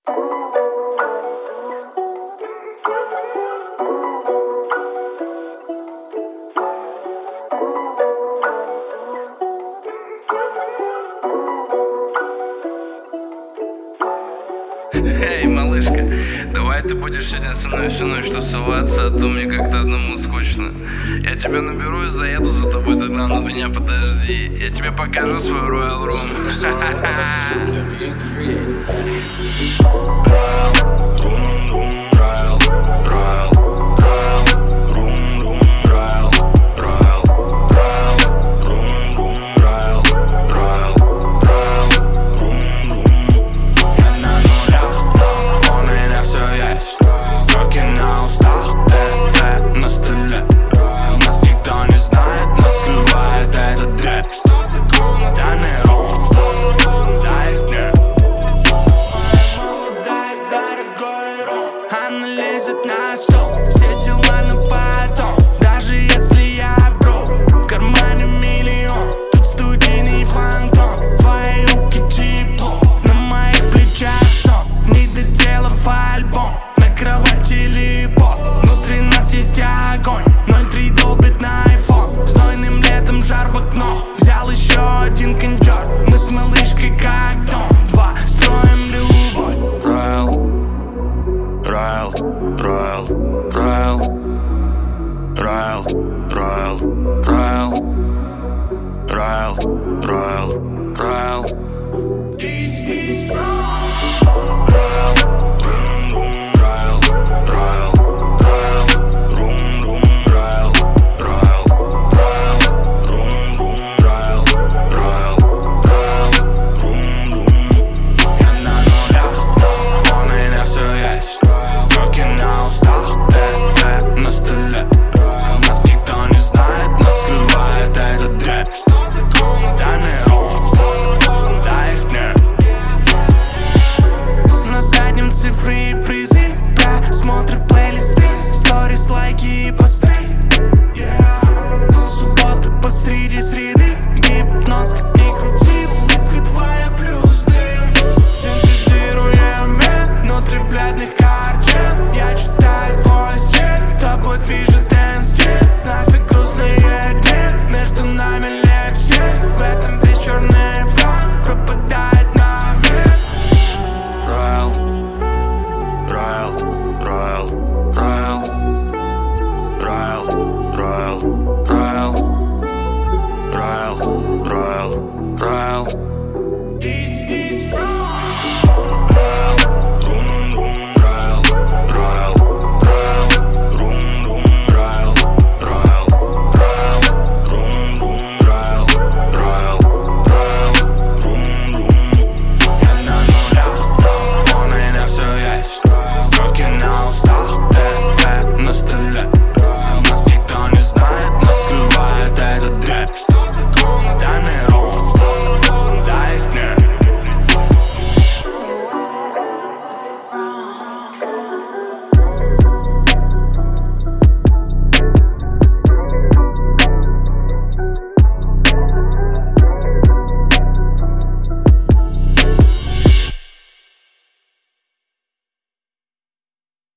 Эй, малышка, давай ты будешь сегодня со мной всю ночь тусоваться, а то мне как-то одному скучно. Я тебя наберу и заеду за тобой, тогда на меня подожди. Я тебе покажу свой Royal Room. Она лезет на стол, все дела на потом. Даже если я бро, в кармане миллион. Тут студийный планктон, твои руки тепло, на моих плечах сон. Не доделав альбом, на кровати липо. Внутри нас есть огонь, 03 долбит на iPhone. Знойным летом жар в окно, взял еще один кондер. Мы с малышкой как дом, два строим любовь. Royal, Royal, Royal, Royal, Royal, Royal, Royal, Royal, Royal.